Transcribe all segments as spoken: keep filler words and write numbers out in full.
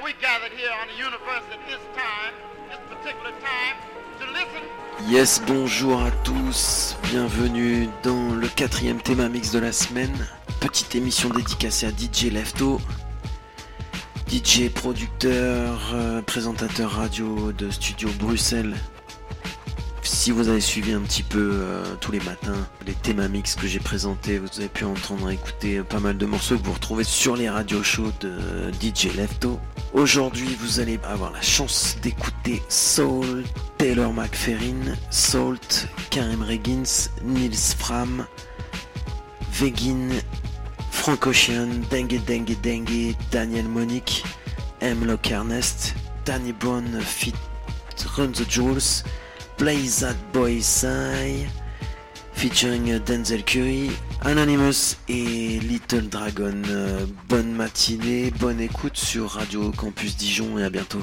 we gathered here on the universe at this time, this particular time, to listen. Yes, bonjour à tous, bienvenue dans le quatrième Théma Mix de la semaine. Petite émission dédicacée à D J Lefto, D J producteur, euh, présentateur radio de Studio Bruxelles. Si vous avez suivi un petit peu euh, tous les matins les Théma Mix que j'ai présentés, vous avez pu entendre écouter pas mal de morceaux que vous retrouvez sur les radio shows de euh, D J Lefto. Aujourd'hui, vous allez avoir la chance d'écouter Soul, Taylor McFerrin, Salt, Karim Reggins, Nils Fram, Vegin, Frank Ocean, Dengue Dengue Dengue, Daniel Monique, M. Lock Ernest, Danny Brown Fit Run the Jewels, Play That Boy Sigh, featuring Denzel Curry, Anonymous et Little Dragon. Euh, bonne matinée, bonne écoute sur Radio Campus Dijon et à bientôt.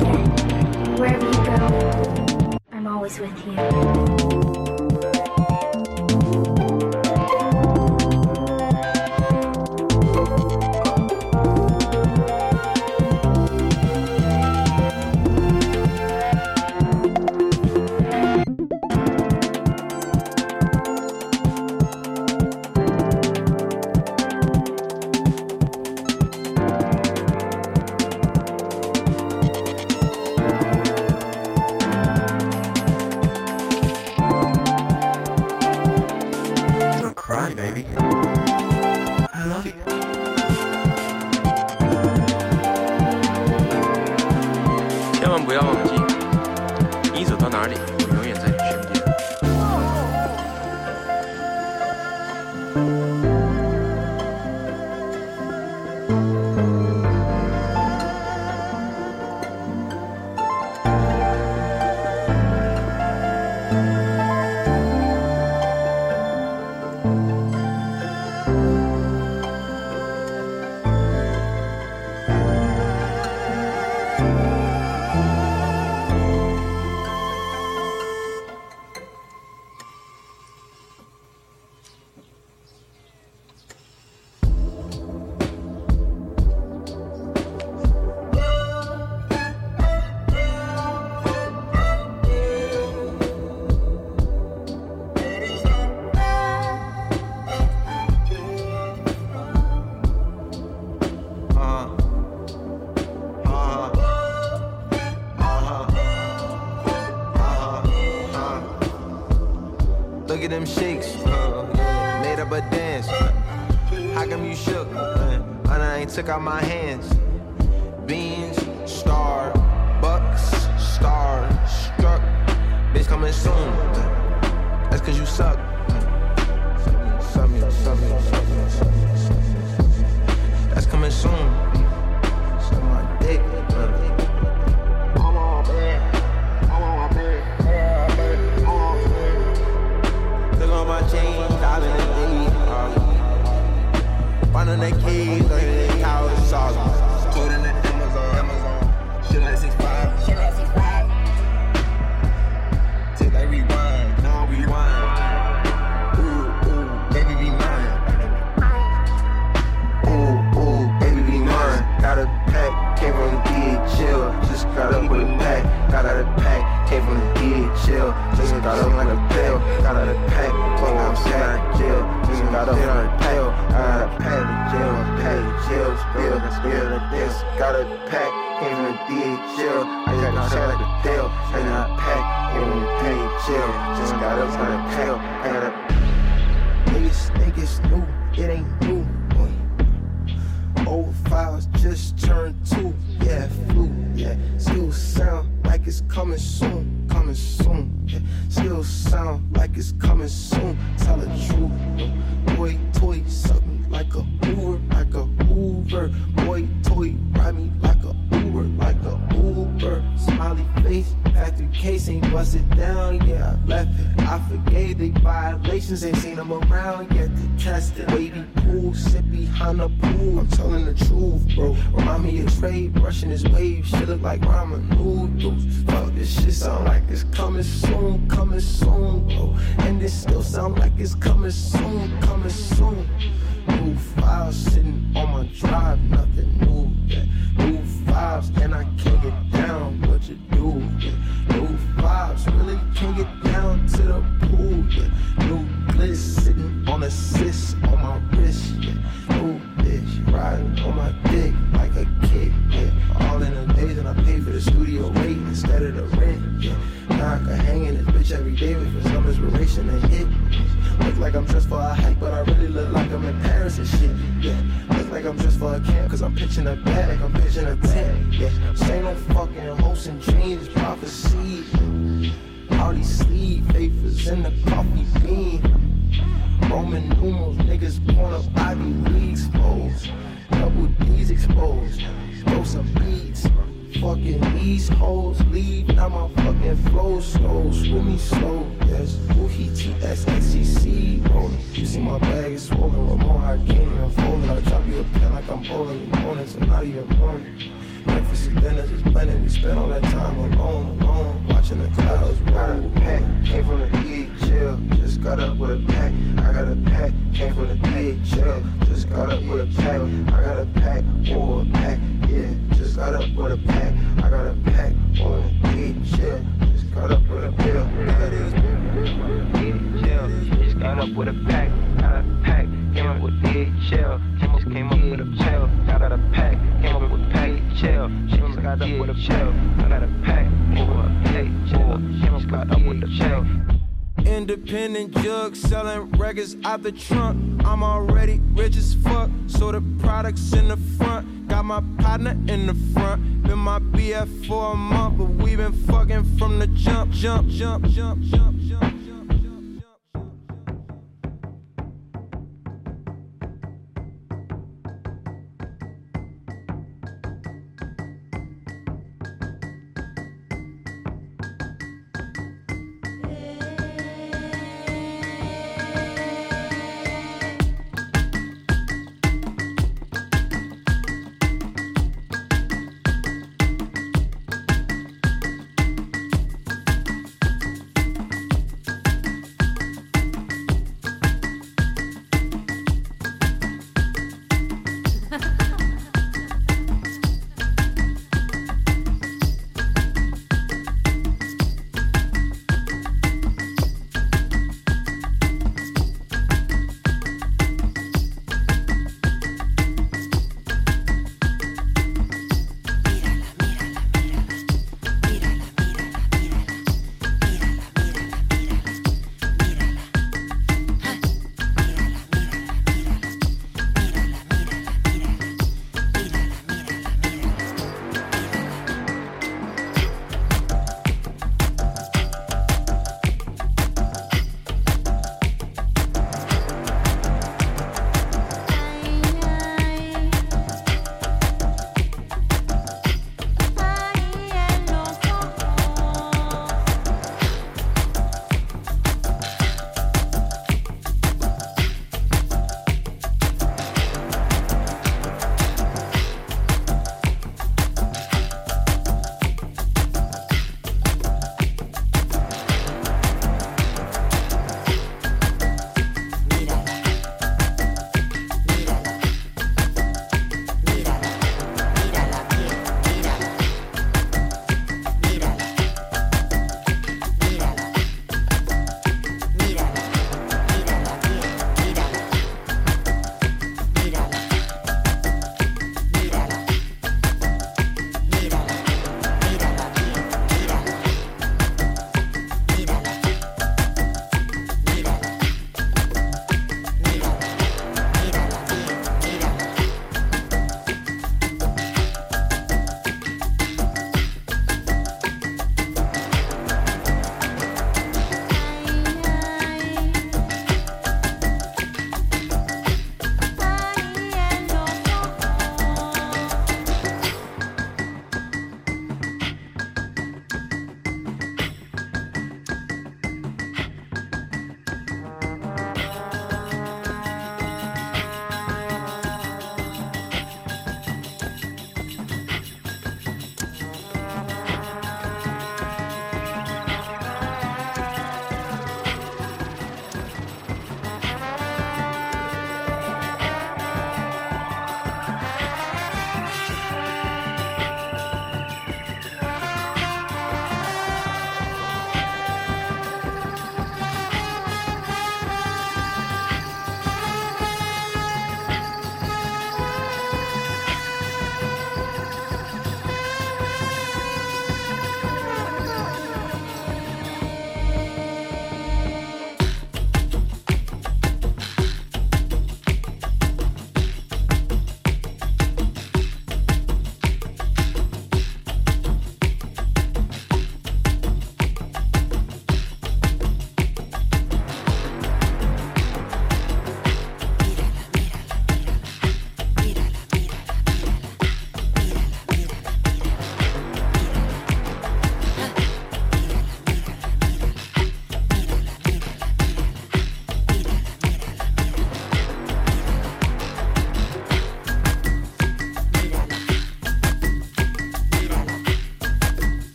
forget. Wherever you go, I'm always with you. Look at them shakes, uh, made up a dance. How come you shook? Uh, and I ain't took out my hands. Beans, star, bucks, star, struck. Bitch coming soon. Uh, that's cause you suck. Uh, suck me, suck me, suck me, suck me, suck me. That's coming soon. Suck my dick. Uh, my chain, diamond and D. Find on that cave, like that cow is sauce. Put in the Amazon, Amazon. Shit like six five. Shit like six five. Take like rewind, now rewind. Ooh, ooh, baby be mine. Ooh, ooh, baby be mine. Got a pack, came from the D, chill. Just got up with a pack, got out of pack, came from the D, chill. Just got up like a pill, got out of pack. I'm sitting in jail, just got up on a pill. I got a pack of jail, pack of jail, spill, spill the this. Got a pack, came from the D H L. I got a shit like a pill. I got a pack, came from the D H L. Just got up on a pill. I got a niggas think it's new, it ain't new. Old files just turned two, yeah, flu, yeah. Still sound like it's coming soon, coming soon, yeah. Still sound like it's coming soon. Tell the truth, boy, toy, suck me like a Uber, like a Uber. Boy, toy, ride me like a Uber, like a Uber. Smiley face, factory case ain't busted down, yeah. I left it, I forgave the violations, ain't seen them around yet to test it. Wavy pool, sit behind the pool. I'm telling the truth, bro. Remind me of Trey brushing his waves. Shit look like ramen noodles. Fuck, this shit sound like it's coming soon, coming soon, bro. And this still sound like it's coming soon, coming soon. New files sitting on my drive, nothing new, yeah. New vibes, and I can't get down what you do, yeah. New vibes, really can't get down to the pool, yeah. New bliss sitting on a sis on my wrist, yeah. New bitch riding on my dick like a kid, yeah. All in the days and I pay for the studio rate instead of the rent, yeah. Now I can hang in this bitch every day wait for some inspiration to hit. Look like I'm dressed for a hike, but I really look like I'm in Paris and shit, yeah. Look like I'm dressed for a camp, cause I'm pitching a bag, I'm pitching a tent, yeah. Say no fucking hopes and dreams, prophecy. All these sleeve papers in the coffee bean. Roman numerals, niggas pouring up Ivy Leagues, exposed. Double D's exposed. Throw some beats. Fucking these hoes leave, now my fucking flow slow. Screw me slow, yes. Woohee T S X C C rolling. You see my bag is swollen, Ramon, I can't even fold it. I drop you a pen like I'm bowling. You moaning, so now you're moaning. Breakfast and dinner just blended. We spent all that time alone, alone, watching the clouds roll. Got a pack, came from the D H L. Just got up with a pack. I got a pack, came from the D H L. Just got up with a pack. I got a pack, or a pack. Yeah, just got up with a pack. I got a pack, or a D H L. Just got up with a pill. That is D H L. Just got up with a pack. Got a pack, came up with D H L. Just came up with a pack. Got out a pack, came up with pack. Chill, she just got up with a chill. I got a pack, or a pack. Chill, she just got up with a chill. Independent jug selling records out the trunk. I'm already rich as fuck, so the products in the front. Got my partner in the front. Been my B F for a month, but we been fucking from the jump, jump, jump, jump, jump, jump.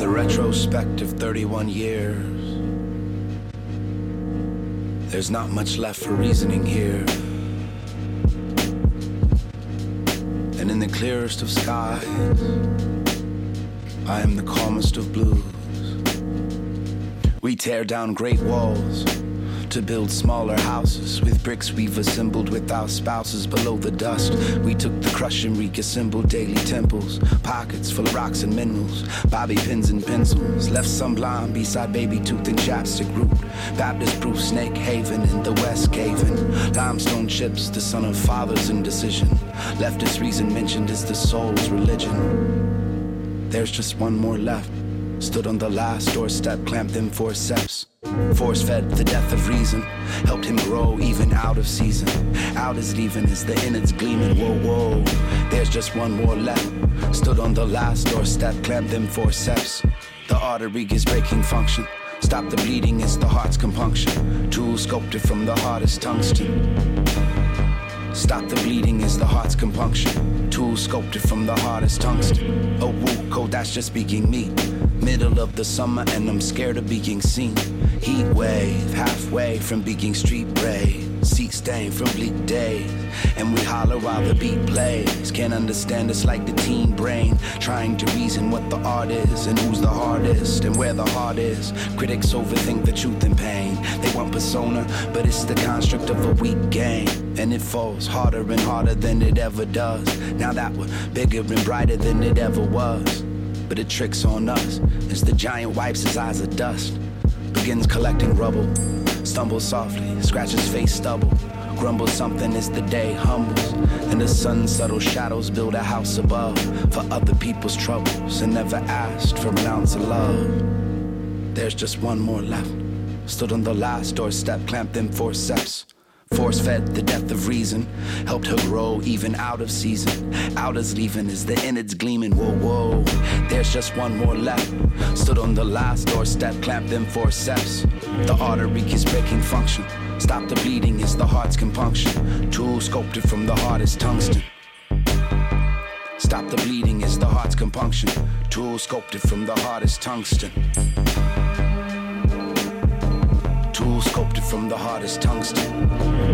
the retrospect of thirty-one years. There's not much left for reasoning here. And in the clearest of skies, I am the calmest of blues. We tear down great walls to build smaller houses. With bricks we've assembled with our spouses below the dust. We took the crush and reassembled daily temples. Pockets full of rocks and minerals. Bobby pins and pencils. Left some blind beside baby tooth and chapstick root. Baptist proof Snake Haven in the West Caven. Limestone chips, the son of father's indecision. Leftist reason mentioned is the soul's religion. There's just one more left. Stood on the last doorstep, clamped them forceps. Force-fed the death of reason. Helped him grow even out of season. Out is leaving as the innards gleaming. Whoa, whoa, there's just one more left. Stood on the last doorstep, clamped them forceps. The artery is breaking function. Stop the bleeding, it's the heart's compunction. Tool sculpted from the hardest tungsten. Stop the bleeding is the heart's compunction. Tool sculpted from the hardest tungsten. Oh, woo, cold, that's just speaking me. Middle of the summer and I'm scared of being seen. Heat wave, halfway from being street brave. Seat stain from bleak days. And we holler while the beat plays. Can't understand us like the teen brain. Trying to reason what the art is. And who's the hardest and where the heart is. Critics overthink the truth and pain. They want persona, but it's the construct of a weak game. And it falls harder and harder than it ever does. Now that we're bigger and brighter than it ever was. But it tricks on us as the giant wipes his eyes of dust. Begins collecting rubble. Stumbles softly, scratches face stubble. Grumbles something as the day humbles. And the sun's subtle shadows build a house above. For other people's troubles and never asked for an ounce of love. There's just one more left. Stood on the last doorstep, clamped them forceps. Force-fed the death of reason. Helped her grow even out of season. Out as leaving as the innards gleaming. Whoa, whoa, there's just one more left. Stood on the last doorstep, clamped them forceps. The artery is breaking function. Stop the bleeding is the heart's compunction. Tool sculpted from the hardest tungsten. Stop the bleeding is the heart's compunction. Tool sculpted from the hardest tungsten. Tool sculpted from the hardest tungsten.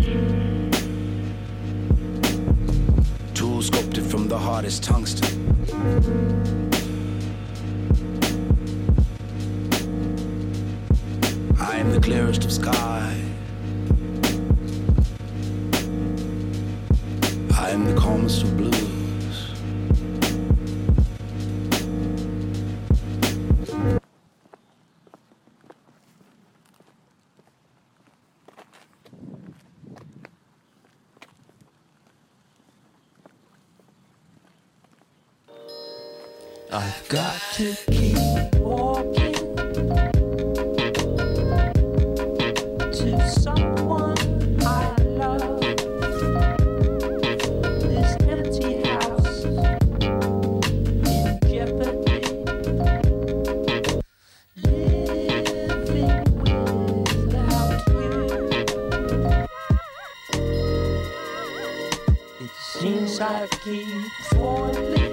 Tool sculpted from the hardest tungsten. I am the clearest of sky. I am the calmest of blues. I've got to keep walking to someone I love. This empty house in jeopardy. Living without you. It seems I keep falling.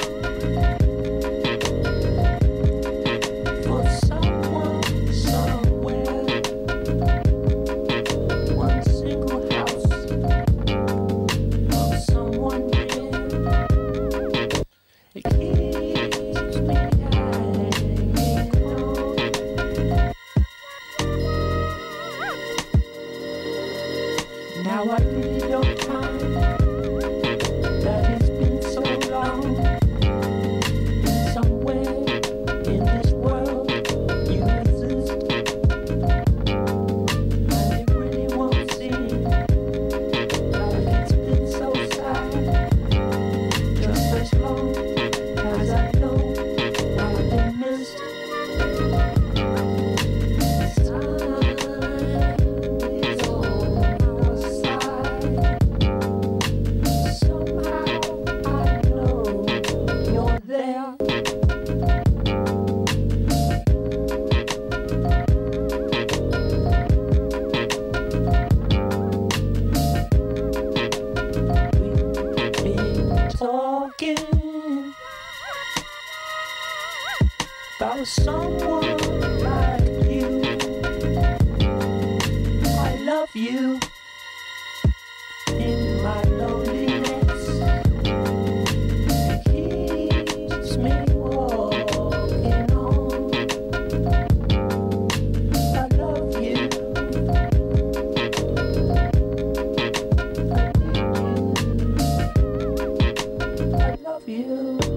for someone like you. I love you in my loneliness. It keeps me walking on. I love you. I love you.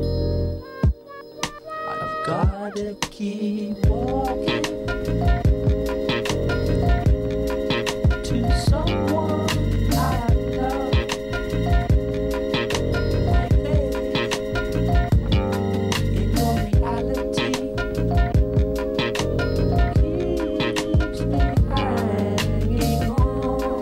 I've gotta keep walking to someone I love. My faith in your reality keeps me hanging on.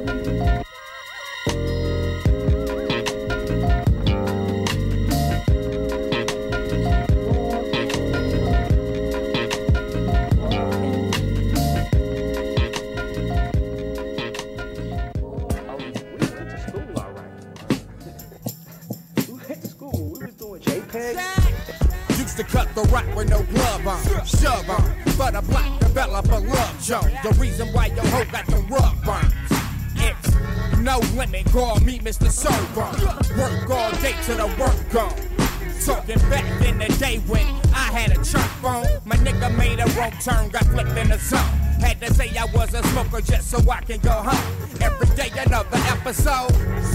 Used to cut the rock with no glove on, shove on, but a black developer love Joe. The reason why your hoe got the rug burns. It's no limit, call me Mister Sober. Work all day till the work gone. Talking back in the day when I had a church phone, my nigga made a wrong turn, got flipped in the zone. Had to say I was a smoker just so I can go home. Every day another episode.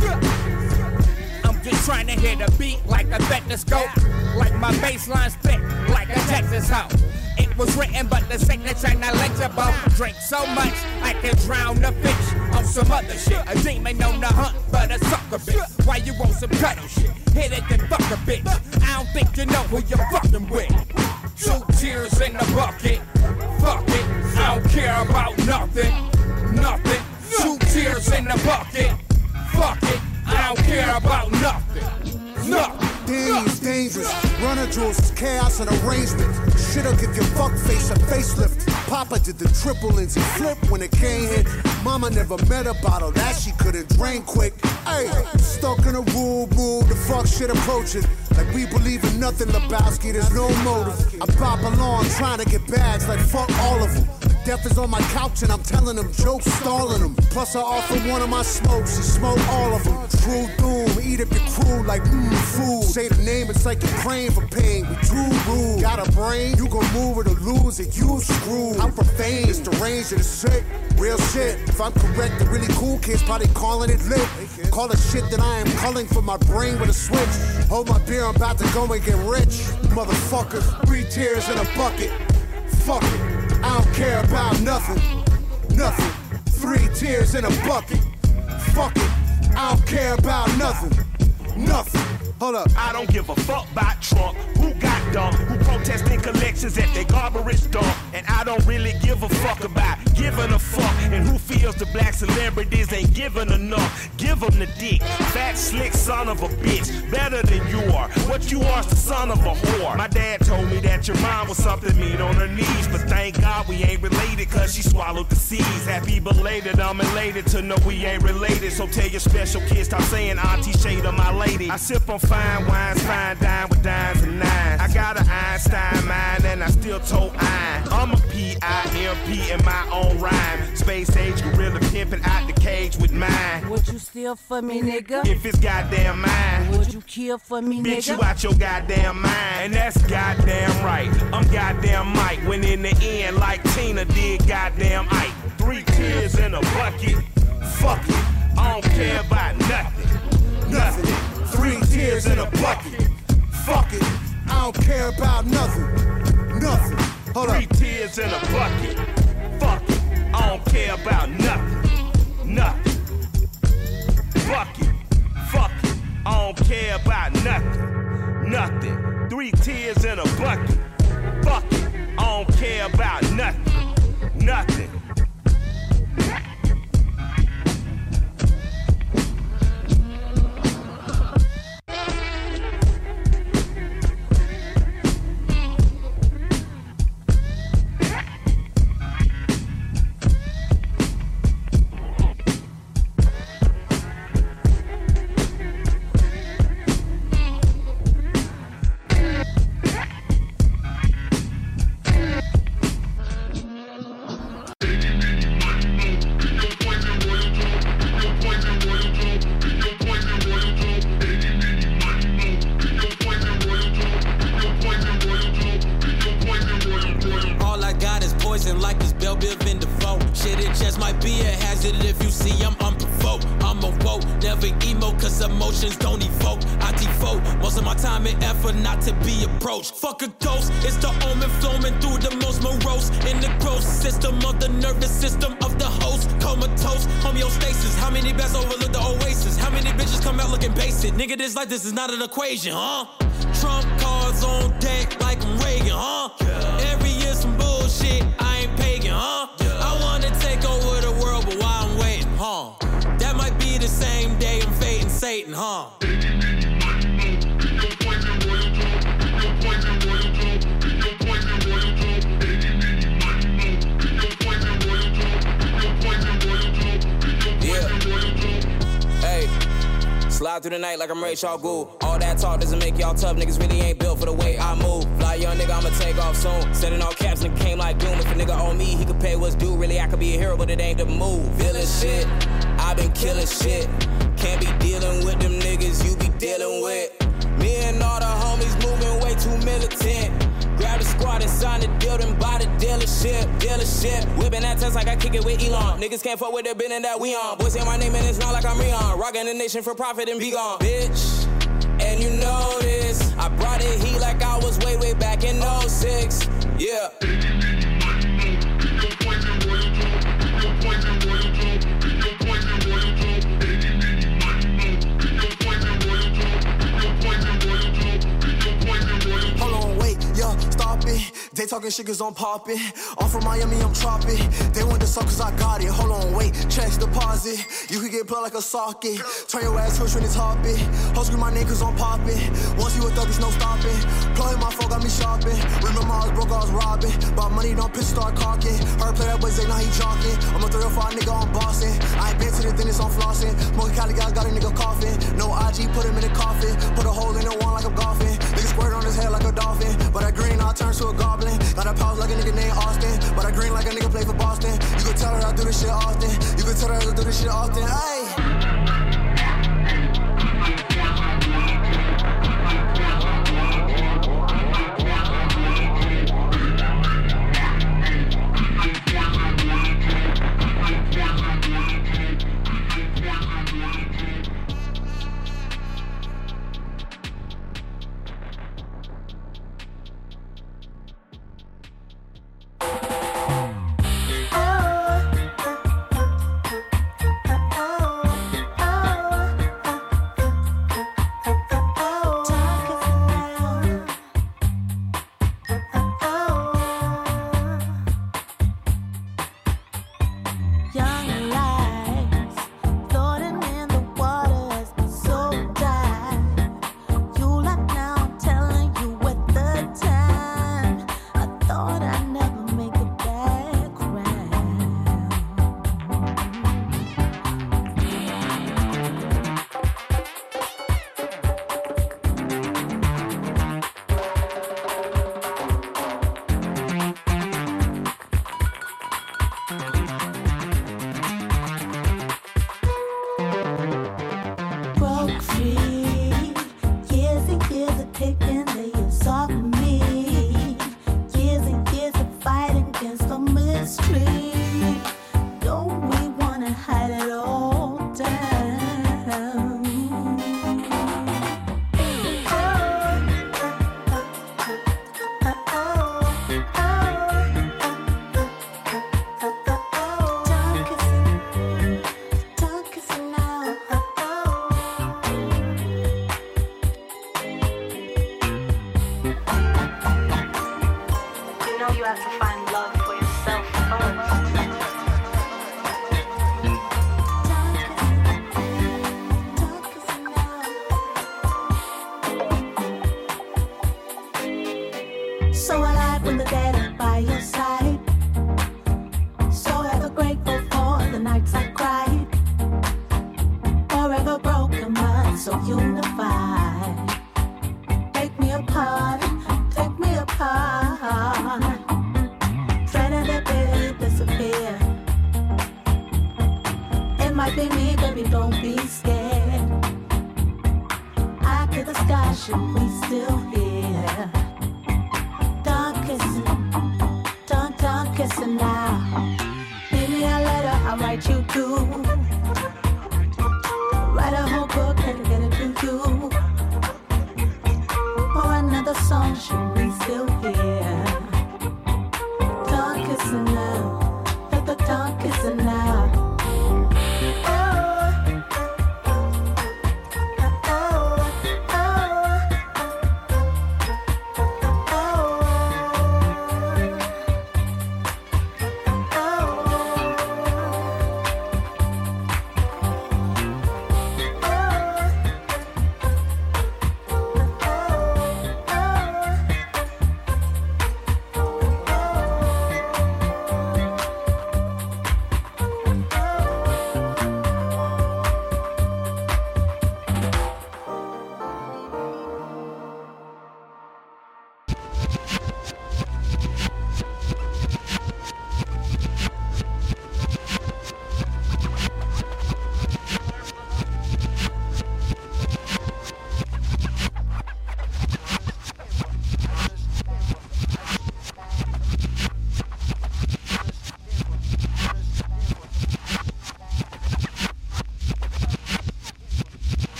I'm just trying to hit a beat like a stethoscope, like my bassline's thick, like a Texas hoe. It was written, but the signature not legible. Drink so much I can drown the fish on some other shit. A demon on the hunt, but a sucker bitch. Why you want some cuddle shit? Hit it then fuck a bitch. I don't think you know who you're fucking with. Two tears in the bucket. Fuck it, I don't care about nothing. Nothing. Two tears in the bucket. Fuck it, I don't care about nothing. Nothing. Danny is dangerous. Runner jewels is chaos and arrangement. Shit'll give your fuck face a facelift. Papa did the triple Lindsay flip when it came hit. Mama never met a bottle that she couldn't drain quick. Hey, stuck in a rule, move, the fuck shit approaching. Like we believe in nothing, Lebowski, there's no motive. I pop along trying to get bags like fuck all of them. Death is on my couch and I'm telling them jokes, stalling them. Plus I offer one of my smokes, she smoke all of them. True doom, eat up your crew like mmm food. Say the name, it's like you're praying for pain. We true rule. Got a brain, you gon' move it or lose it, you screwed. I'm for fame, it's the range of the sick. Real shit, if I'm correct, the really cool kids probably calling it lit. Call it shit that I am culling for my brain with a switch. Hold my beer, I'm about to go and get rich. Motherfucker, three tears in a bucket. Fuck it, I don't care about nothing. Nothing, three tears in a bucket. Fuck it, I don't care about nothing. Nothing. Hold up. I don't give a fuck about Trump. Who got dumb? Who protesting collections at their garbage dump? And I don't really give a fuck about giving a fuck. And who feels the black celebrities ain't giving enough? Give them the dick. Fat, slick son of a bitch. Better than you are. What you are is the son of a whore. My dad told me that your mom was something mean on her knees. But thank God we ain't related cause she swallowed the seeds. Happy belated, I'm elated to know we ain't related. So tell your special kids, stop saying Auntie Shada, my lady. I sip on fine wines, fine dine with dimes and nines. I got an Einstein mind and I still told iron. I'm a P I M P in my own rhyme. Space age gorilla pimping out the cage with mine. Would you steal for me, nigga? If it's goddamn mine. Would you kill for me, nigga? Bitch, you out your goddamn mind. And that's goddamn right. I'm goddamn Mike. When in the end, like Tina did goddamn Ike. Three tears in a bucket. Fuck it. I don't care about nothing. Nothing. Three tears in a bucket. Fuck it, I don't care about nothing. Nothing. Hold Three up. tears in a bucket. Fuck it, I don't care about nothing. Nothing. Bucket. Fuck it, I don't care about nothing. Nothing. Three tears in a bucket. Fuck it, I don't care about nothing. Nothing. hazard if you see I'm unprovoked. I'm a woke, never emo, cause emotions don't evoke. I devote most of my time and effort not to be approached. Fuck a ghost, it's the omen flowing through the most morose. In the gross system of the nervous system of the host. Comatose, homeostasis. How many best overlook the oasis? How many bitches come out looking basic? Nigga, this life, this is not an equation, huh? Trump cards on deck like I'm Reagan, huh? Yeah. Every year some bullshit, I ain't pagan, huh? Yeah. I wanna take over the world, but while I'm waiting, huh? That might be the same day I'm fading Satan, huh? Slide through the night like I'm Ray Charles Gould. All that talk doesn't make y'all tough. Niggas really ain't built for the way I move. Fly young nigga, I'ma take off soon. Sending all caps and came like doom. If a nigga owe me, he could pay what's due. Really, I could be a hero, but it ain't the move. Feeling shit, I been killing shit. Can't be dealing with them niggas you be dealing with. Me and all the homies moving way too militant. Grab the squad and sign the deal, then buy the dealership, dealership. Whipping that test like I kick it with Elon. Niggas can't fuck with the building that we on. Boys say my name and it's not like I'm Rion. Rockin' the nation for profit and be gone, bitch. And you know this, I brought it heat like I was way, way back in oh six. Yeah. They talking shit cause I'm poppin'. I'm from Miami, I'm choppin'. They want the suck cause I got it. Hold on, wait, checks deposit. You could get plugged like a socket. Turn your ass switch when it's hoppin'. Ho scream my name cause I'm poppin'. Once you a thug, there's no stopping. Plug my phone, got me shopping. Remember I was broke, I was robbing. But money don't piss, start cocking. Heard play that boy say now he jogging. I'm a three oh five nigga, I'm bossing. I ain't been to the dentist, I'm flossing. Smoking Cali guys got a nigga coughing. No I G, put him in the coffin. Put a hole in the wall like I'm golfing. Nigga squirt on his head like a dolphin. But that green, I turn to a goblin. Got a pause like a nigga named Austin. But I green like a nigga play for Boston. You can tell her I do this shit often. You can tell her I do this shit often. Ayy. Kissing now. Maybe I let her I write you too. Write a whole book and get it to you. Or another song should we still hear. Talk is enough. Let the talk is enough.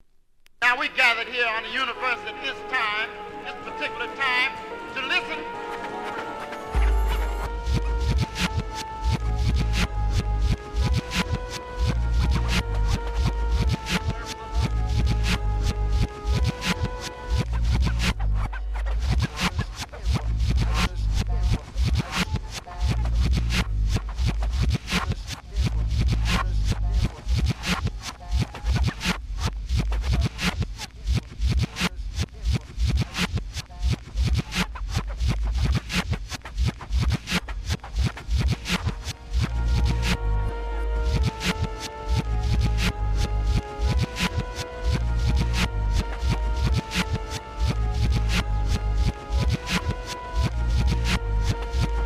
Now we gathered here on the universe at this time, this particular time, to listen